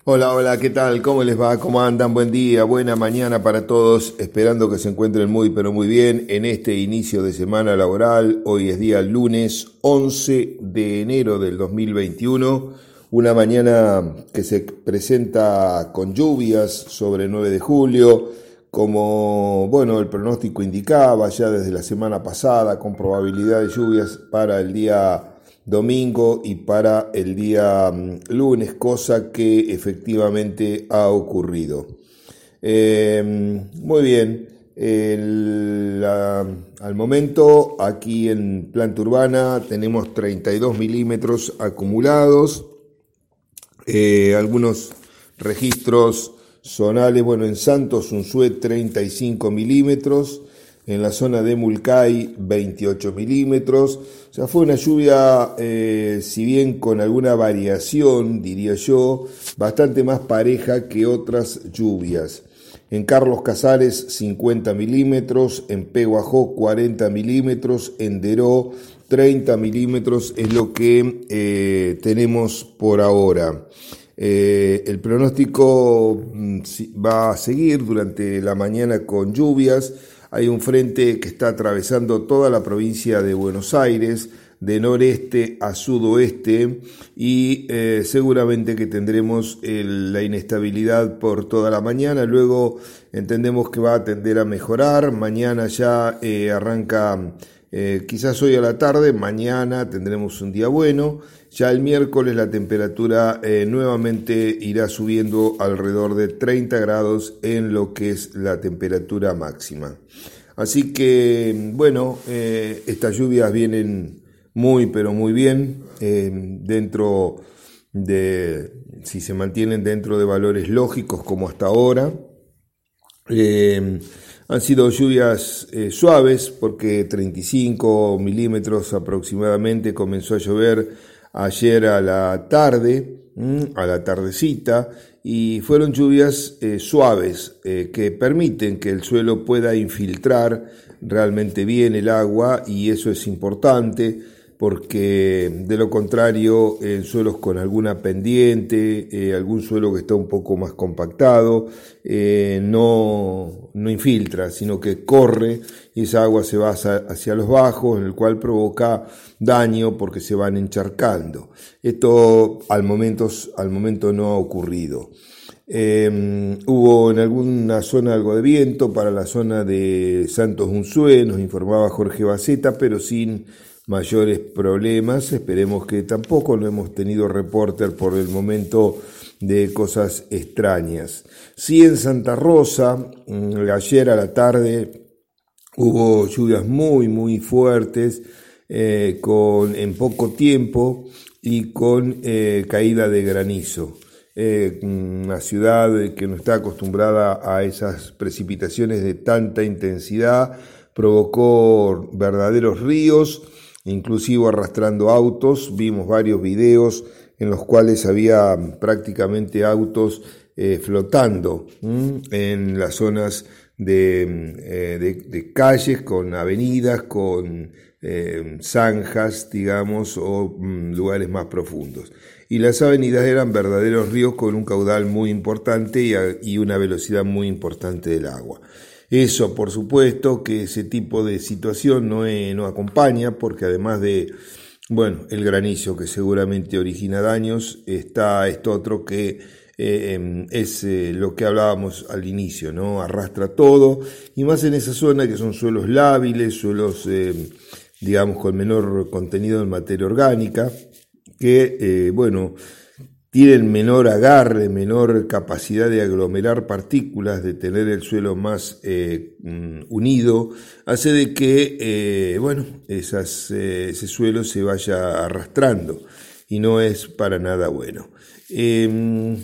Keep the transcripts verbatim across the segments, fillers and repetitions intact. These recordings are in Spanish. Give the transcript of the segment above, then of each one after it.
Hola, hola, ¿qué tal? ¿Cómo les va? ¿Cómo andan? Buen día, buena mañana para todos. Esperando que se encuentren muy, pero muy bien en este inicio de semana laboral. Hoy es día lunes once de enero del dos mil veintiuno. Una mañana que se presenta con lluvias sobre el nueve de julio. Como, bueno, el pronóstico indicaba ya desde la semana pasada, con probabilidad de lluvias para el día domingo y para el día mm, lunes, cosa que efectivamente ha ocurrido. Eh, muy bien, el, la- al momento aquí en planta urbana tenemos treinta y dos milímetros acumulados, eh, algunos registros zonales, bueno, en Santos Unzué treinta y cinco milímetros, en la zona de Mulcay veintiocho milímetros, o sea, fue una lluvia, eh, si bien con alguna variación, diría yo, bastante más pareja que otras lluvias. En Carlos Casares cincuenta milímetros, en Peguajó cuarenta milímetros, en Deró treinta milímetros es lo que eh, tenemos por ahora. Eh, el pronóstico mm, va a seguir durante la mañana con lluvias. Hay un frente que está atravesando toda la provincia de Buenos Aires, de noreste a sudoeste, y eh, seguramente que tendremos el, la inestabilidad por toda la mañana. Luego entendemos que va a tender a mejorar. Mañana ya eh, arranca, eh, quizás hoy a la tarde, mañana tendremos un día bueno. Ya el miércoles la temperatura eh, nuevamente irá subiendo alrededor de treinta grados en lo que es la temperatura máxima. Así que, bueno, eh, estas lluvias vienen muy, pero muy bien, eh, dentro de, si se mantienen dentro de valores lógicos como hasta ahora. Eh, Han sido lluvias eh, suaves porque treinta y cinco milímetros aproximadamente comenzó a llover ayer a la tarde, mmm, a la tardecita, y fueron lluvias eh, suaves eh, que permiten que el suelo pueda infiltrar realmente bien el agua, y eso es importante porque de lo contrario en suelos con alguna pendiente, eh, algún suelo que está un poco más compactado, eh, no, no infiltra, sino que corre y esa agua se va hacia, hacia los bajos, en el cual provoca daño porque se van encharcando. Esto al momento, al momento no ha ocurrido. Eh, hubo en alguna zona algo de viento para la zona de Santos Unzué, nos informaba Jorge Baceta, pero sin mayores problemas. Esperemos que tampoco, no hemos tenido reporter por el momento de cosas extrañas. Sí, en Santa Rosa, ayer a la tarde hubo lluvias muy muy fuertes, eh, con, en poco tiempo, y con eh, caída de granizo. Eh, una ciudad que no está acostumbrada a esas precipitaciones de tanta intensidad provocó verdaderos ríos, inclusive arrastrando autos. Vimos varios videos en los cuales había prácticamente autos eh, flotando ¿m? en las zonas de, eh, de, de calles, con avenidas, con eh, zanjas, digamos, o mm, lugares más profundos. Y las avenidas eran verdaderos ríos con un caudal muy importante y, a, y una velocidad muy importante del agua. Eso, por supuesto, que ese tipo de situación no, eh, no acompaña, porque además de, bueno, el granizo que seguramente origina daños, está esto otro que eh, es eh, lo que hablábamos al inicio, ¿no? Arrastra todo, y más en esa zona que son suelos lábiles, suelos, eh, digamos, con menor contenido en materia orgánica, que, eh, bueno, tienen menor agarre, menor capacidad de aglomerar partículas, de tener el suelo más eh, unido, hace de que, eh, bueno, esas, eh, ese suelo se vaya arrastrando, y no es para nada bueno. Eh,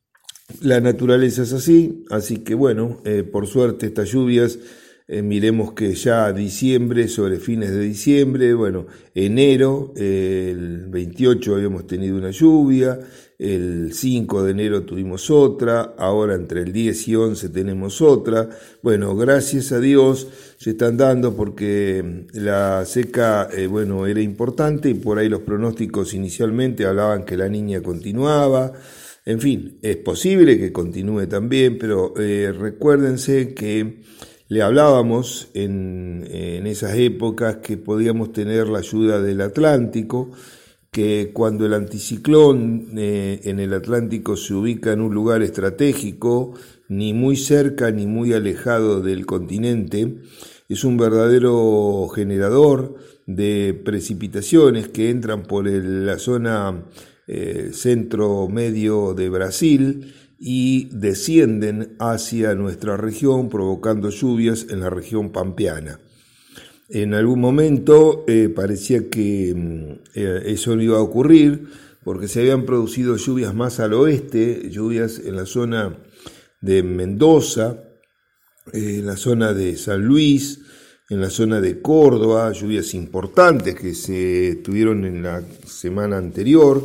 la naturaleza es así, así que bueno, eh, por suerte estas lluvias, eh, miremos que ya diciembre, sobre fines de diciembre, bueno, enero, eh, el veintiocho habíamos tenido una lluvia, el cinco de enero tuvimos otra, ahora entre el diez y once tenemos otra. Bueno, gracias a Dios se están dando, porque la seca, eh, bueno, era importante, y por ahí los pronósticos inicialmente hablaban que la Niña continuaba. En fin, es posible que continúe también, pero eh, recuérdense que le hablábamos en, en esas épocas que podíamos tener la ayuda del Atlántico, que cuando el anticiclón eh, en el Atlántico se ubica en un lugar estratégico, ni muy cerca ni muy alejado del continente, es un verdadero generador de precipitaciones que entran por el, la zona eh, centro-medio de Brasil y descienden hacia nuestra región, provocando lluvias en la región pampeana. En algún momento eh, parecía que eh, eso no iba a ocurrir, porque se habían producido lluvias más al oeste, lluvias en la zona de Mendoza, eh, en la zona de San Luis, en la zona de Córdoba, lluvias importantes que se tuvieron en la semana anterior,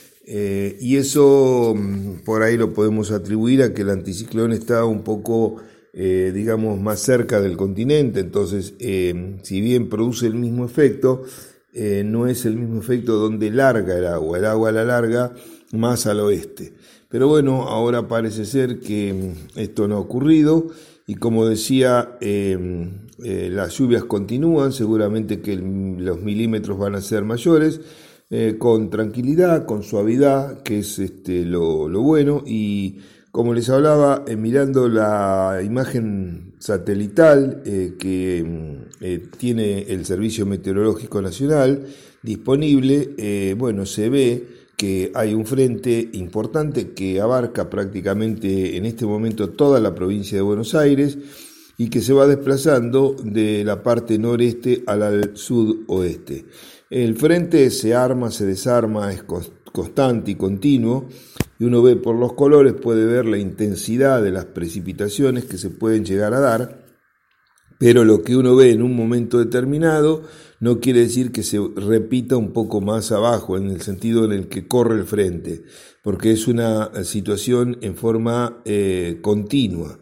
eh, y eso por ahí lo podemos atribuir a que el anticiclón está un poco, eh, digamos, más cerca del continente. Entonces, eh, si bien produce el mismo efecto, eh, no es el mismo efecto donde larga el agua, el agua la larga más al oeste. Pero bueno, ahora parece ser que esto no ha ocurrido y como decía, eh, eh, las lluvias continúan, seguramente que el, los milímetros van a ser mayores, eh, con tranquilidad, con suavidad, que es este, lo, lo bueno. Y como les hablaba, eh, mirando la imagen satelital eh, que eh, tiene el Servicio Meteorológico Nacional disponible, eh, bueno, se ve que hay un frente importante que abarca prácticamente en este momento toda la provincia de Buenos Aires y que se va desplazando de la parte noreste al sudoeste. El frente se arma, se desarma, es constante y continuo, y uno ve por los colores, puede ver la intensidad de las precipitaciones que se pueden llegar a dar, pero lo que uno ve en un momento determinado no quiere decir que se repita un poco más abajo, en el sentido en el que corre el frente, porque es una situación en forma eh, continua.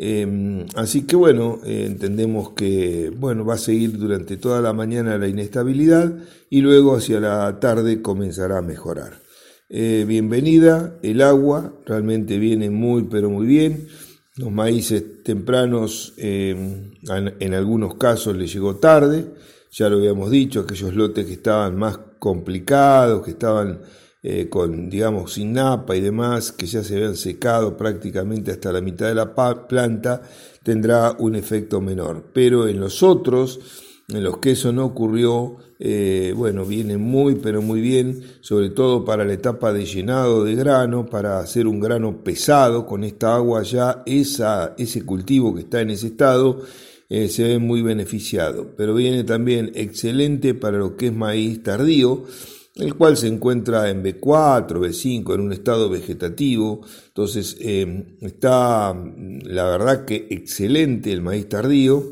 Eh, así que bueno, eh, entendemos que bueno, va a seguir durante toda la mañana la inestabilidad y luego hacia la tarde comenzará a mejorar. Eh, bienvenida, el agua realmente viene muy pero muy bien. Los maíces tempranos eh, en, en algunos casos les llegó tarde, ya lo habíamos dicho, aquellos lotes que estaban más complicados, que estaban eh, con, digamos, sin napa y demás, que ya se habían secado prácticamente hasta la mitad de la planta, tendrá un efecto menor. Pero en los otros, en los que eso no ocurrió, eh, bueno, viene muy pero muy bien, sobre todo para la etapa de llenado de grano, para hacer un grano pesado con esta agua ya, esa, ese cultivo que está en ese estado eh, se ve muy beneficiado. Pero viene también excelente para lo que es maíz tardío, el cual se encuentra en B cuatro, B cinco, en un estado vegetativo. Entonces eh, está la verdad que excelente el maíz tardío.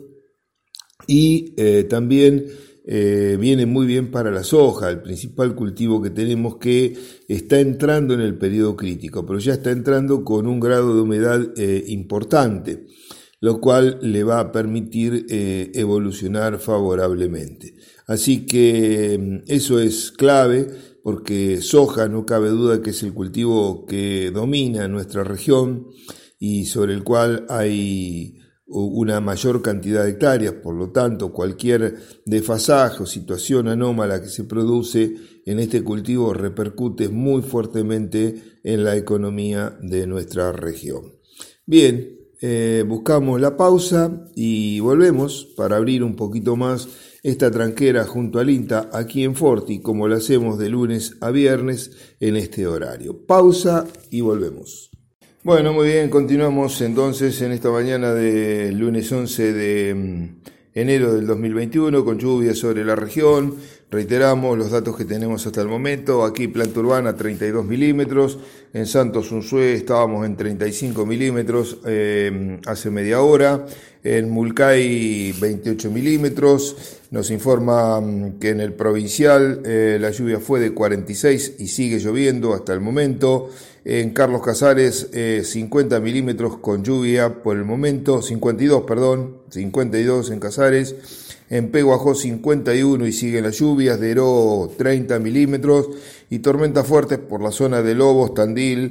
Y eh, también eh, viene muy bien para la soja, el principal cultivo que tenemos, que está entrando en el periodo crítico, pero ya está entrando con un grado de humedad eh, importante, lo cual le va a permitir eh, evolucionar favorablemente. Así que eso es clave, porque soja no cabe duda que es el cultivo que domina nuestra región y sobre el cual hay una mayor cantidad de hectáreas. Por lo tanto, cualquier desfasaje o situación anómala que se produce en este cultivo repercute muy fuertemente en la economía de nuestra región. Bien, eh, buscamos la pausa y volvemos para abrir un poquito más esta tranquera junto al INTA aquí en Forti, como lo hacemos de lunes a viernes en este horario. Pausa y volvemos. Bueno, muy bien, continuamos entonces en esta mañana del lunes once de enero del dos mil veintiuno con lluvias sobre la región. Reiteramos los datos que tenemos hasta el momento. Aquí Planta Urbana treinta y dos milímetros, en Santos Unzué estábamos en treinta y cinco milímetros eh, hace media hora, en Mulcay veintiocho milímetros. Nos informa que en el provincial eh, la lluvia fue de cuarenta y seis y sigue lloviendo hasta el momento. En Carlos Casares eh, cincuenta milímetros con lluvia por el momento, cincuenta y dos, perdón, cincuenta y dos en Casares. En Peguajó cincuenta y uno y siguen las lluvias, Deró treinta milímetros y tormentas fuertes por la zona de Lobos, Tandil,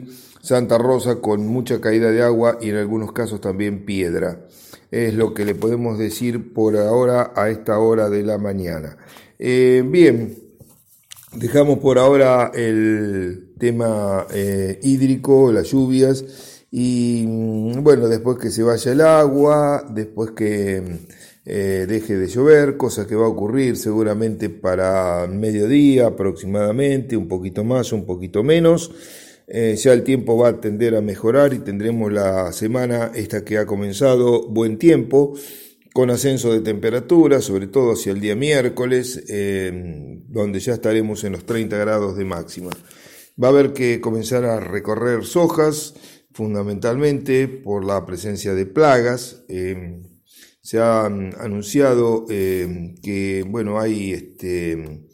Santa Rosa con mucha caída de agua y en algunos casos también piedra. Es lo que le podemos decir por ahora a esta hora de la mañana. Eh, bien, dejamos por ahora el tema eh, hídrico, las lluvias y bueno, después que se vaya el agua, después que eh, deje de llover, cosa que va a ocurrir seguramente para mediodía aproximadamente, un poquito más, un poquito menos. Eh, ya el tiempo va a tender a mejorar y tendremos la semana esta que ha comenzado buen tiempo, con ascenso de temperatura, sobre todo hacia el día miércoles, eh, donde ya estaremos en los treinta grados de máxima. Va a haber que comenzar a recorrer sojas, fundamentalmente por la presencia de plagas. Eh, se ha anunciado eh, que bueno, hay este,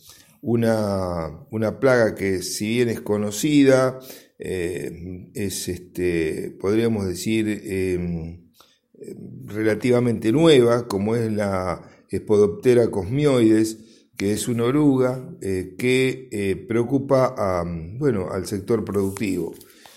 una, una plaga que, si bien es conocida, eh, es, este, podríamos decir, eh, relativamente nueva, como es la Spodoptera cosmioides, que es una oruga eh, que eh, preocupa a, bueno, al sector productivo.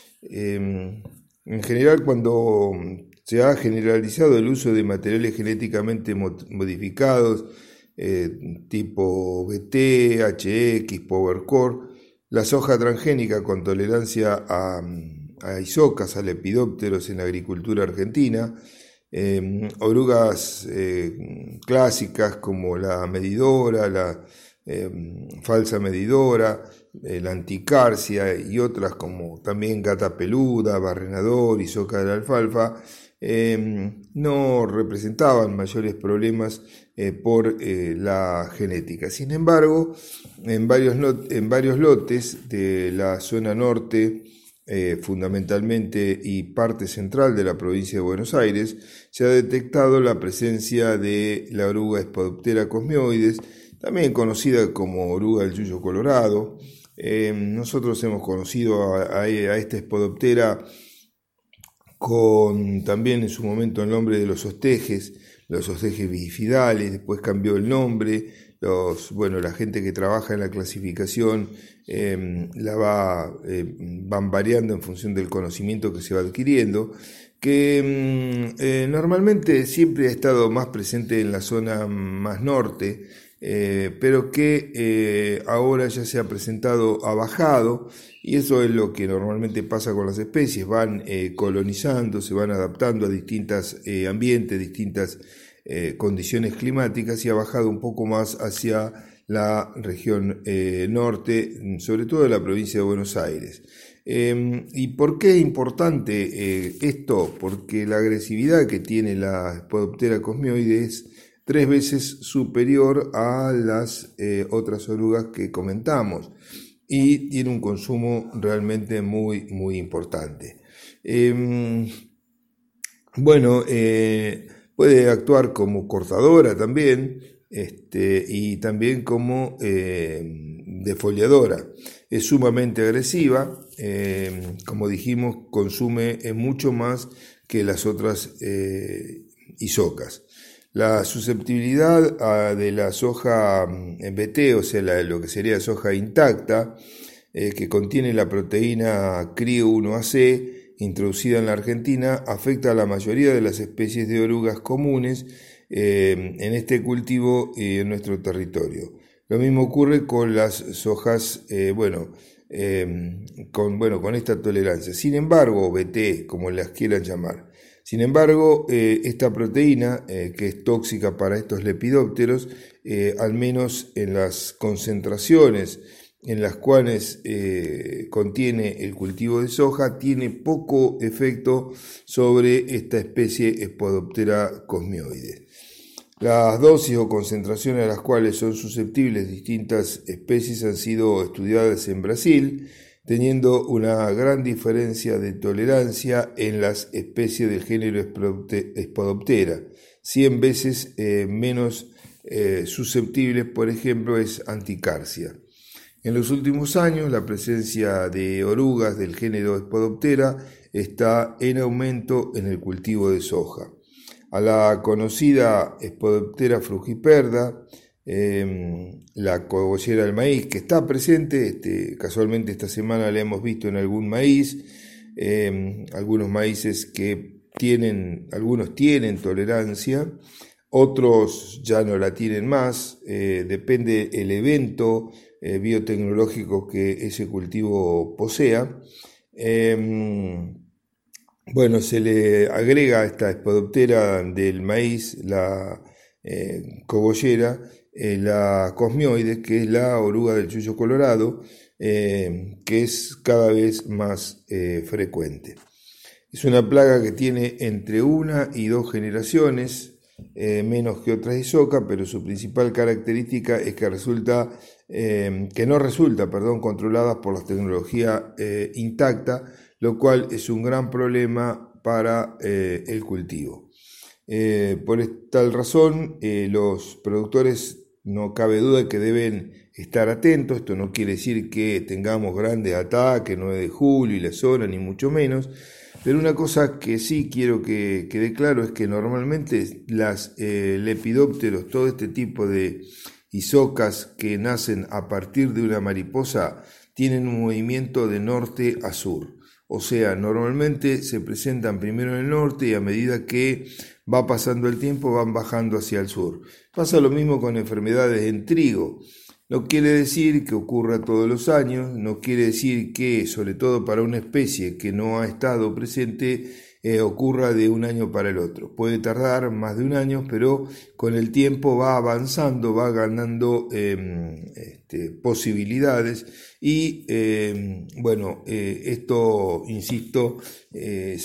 Eh, en general, cuando se ha generalizado el uso de materiales genéticamente modificados, eh, tipo B T, H X, PowerCore, la soja transgénica con tolerancia a, a isocas, a lepidópteros en la agricultura argentina, eh, orugas eh, clásicas como la medidora, la eh, falsa medidora, eh, la anticarcia y otras como también gata peluda, barrenador y soca de la alfalfa, eh, no representaban mayores problemas eh, por eh, la genética. Sin embargo, en varios, en varios lotes de la zona norte, eh, fundamentalmente y parte central de la provincia de Buenos Aires, se ha detectado la presencia de la oruga Spodoptera cosmioides, también conocida como oruga del yuyo colorado. Eh, nosotros hemos conocido a, a, a esta Spodoptera con también en su momento el nombre de los ostejes, los ostejes bifidales, después cambió el nombre. Los, bueno, la gente que trabaja en la clasificación eh, la va, eh, van variando en función del conocimiento que se va adquiriendo, que eh, normalmente siempre ha estado más presente en la zona más norte, eh, pero que eh, ahora ya se ha presentado, ha bajado, y eso es lo que normalmente pasa con las especies, van eh, colonizando, se van adaptando a distintos eh, ambientes, distintas eh, condiciones climáticas, y ha bajado un poco más hacia la región eh, norte, sobre todo de la provincia de Buenos Aires. Eh, ¿Y por qué es importante eh, esto? Porque la agresividad que tiene la Spodoptera cosmioides es tres veces superior a las eh, otras orugas que comentamos, y tiene un consumo realmente muy, muy importante. Eh, bueno, eh, puede actuar como cortadora también, este, y también como eh, defoliadora. Es sumamente agresiva, eh, como dijimos, consume mucho más que las otras eh, isocas. La susceptibilidad a, de la soja B T, o sea, la, lo que sería soja intacta, eh, que contiene la proteína C R I O uno A C, introducida en la Argentina, afecta a la mayoría de las especies de orugas comunes eh, en este cultivo y en nuestro territorio. Lo mismo ocurre con las sojas, eh, bueno, eh, con, bueno, con esta tolerancia. Sin embargo, B T, como las quieran llamar. Sin embargo, eh, esta proteína, eh, que es tóxica para estos lepidópteros, eh, al menos en las concentraciones en las cuales eh, contiene el cultivo de soja, tiene poco efecto sobre esta especie Spodoptera cosmioides. Las dosis o concentraciones a las cuales son susceptibles distintas especies han sido estudiadas en Brasil, teniendo una gran diferencia de tolerancia en las especies del género Spodoptera. cien veces eh, menos eh, susceptibles, por ejemplo, es anticarcia. En los últimos años, la presencia de orugas del género Spodoptera está en aumento en el cultivo de soja. A la conocida Spodoptera frugiperda, eh, la cogollera del maíz, que está presente, este, casualmente esta semana la hemos visto en algún maíz, eh, algunos maíces que tienen, algunos tienen tolerancia, otros ya no la tienen más, eh, depende el evento eh, biotecnológico que ese cultivo posea. Eh, bueno, se le agrega a esta espodoptera del maíz, la eh, cogollera, eh, la cosmioides, que es la oruga del chuyo colorado, eh, que es cada vez más eh, frecuente. Es una plaga que tiene entre una y dos generaciones, eh, menos que otras isoca, pero su principal característica es que resulta, eh, que no resulta, perdón, controlada por la tecnología eh, intacta, lo cual es un gran problema para eh, el cultivo. Eh, por tal razón, eh, los productores no cabe duda que deben estar atentos. Esto no quiere decir que tengamos grandes ataques, nueve de julio y la zona, ni mucho menos. Pero una cosa que sí quiero que quede claro es que normalmente las eh, lepidópteros, todo este tipo de isocas que nacen a partir de una mariposa, tienen un movimiento de norte a sur. O sea, normalmente se presentan primero en el norte y a medida que va pasando el tiempo van bajando hacia el sur. Pasa lo mismo con enfermedades en trigo. No quiere decir que ocurra todos los años, no quiere decir que, sobre todo para una especie que no ha estado presente, eh, ocurra de un año para el otro. Puede tardar más de un año, pero con el tiempo va avanzando, va ganando eh, este, posibilidades y, eh, bueno, eh, esto, insisto, eh,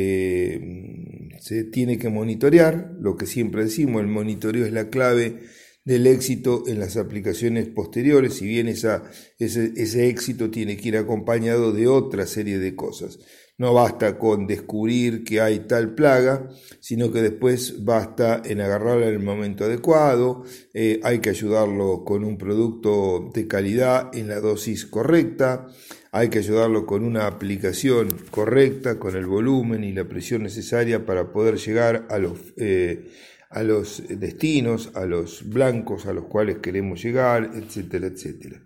se, se tiene que monitorear, lo que siempre decimos, el monitoreo es la clave del éxito en las aplicaciones posteriores, si bien esa, ese, ese éxito tiene que ir acompañado de otra serie de cosas. No basta con descubrir que hay tal plaga, sino que después basta en agarrarla en el momento adecuado, eh, hay que ayudarlo con un producto de calidad en la dosis correcta, hay que ayudarlo con una aplicación correcta, con el volumen y la presión necesaria para poder llegar a los... Eh, a los destinos, a los blancos a los cuales queremos llegar, etcétera, etcétera.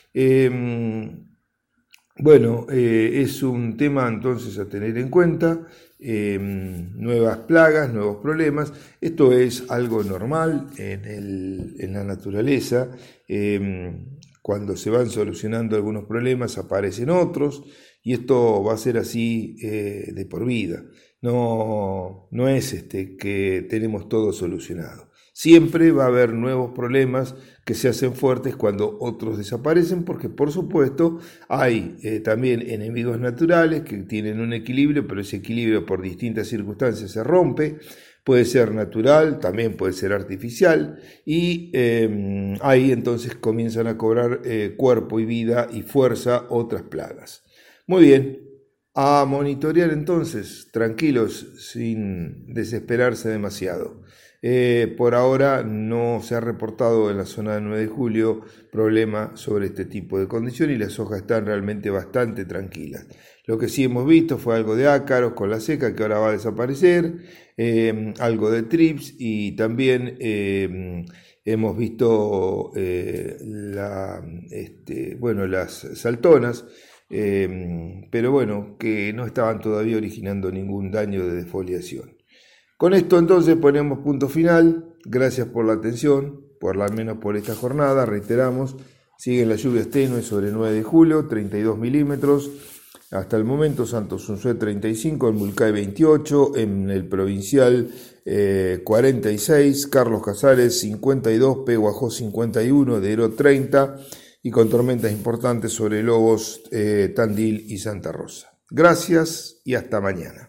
Eh, bueno, eh, es un tema entonces a tener en cuenta, eh, nuevas plagas, nuevos problemas. Esto es algo normal en, el, en la naturaleza. Eh, cuando se van solucionando algunos problemas aparecen otros y esto va a ser así eh, de por vida. No, no es este que tenemos todo solucionado. Siempre va a haber nuevos problemas que se hacen fuertes cuando otros desaparecen, porque por supuesto hay eh, también enemigos naturales que tienen un equilibrio, pero ese equilibrio por distintas circunstancias se rompe. Puede ser natural, también puede ser artificial, y eh, ahí entonces comienzan a cobrar eh, cuerpo y vida y fuerza otras plagas. Muy bien. A monitorear entonces, tranquilos, sin desesperarse demasiado. Eh, por ahora no se ha reportado en la zona de nueve de julio problema sobre este tipo de condición y las hojas están realmente bastante tranquilas. Lo que sí hemos visto fue algo de ácaros con la seca que ahora va a desaparecer, eh, algo de trips y también eh, hemos visto eh, la, este, bueno, las saltonas. Eh, pero bueno, que no estaban todavía originando ningún daño de defoliación. Con esto entonces ponemos punto final. Gracias por la atención, por al menos por esta jornada. Reiteramos, siguen las lluvias tenues sobre nueve de julio, treinta y dos milímetros. Hasta el momento Santos Unzué treinta y cinco, en Mulcay veintiocho, en el Provincial eh, cuarenta y seis, Carlos Casares cincuenta y dos, Peguajó cincuenta y uno, Deró treinta, y con tormentas importantes sobre Lobos, eh, Tandil y Santa Rosa. Gracias y hasta mañana.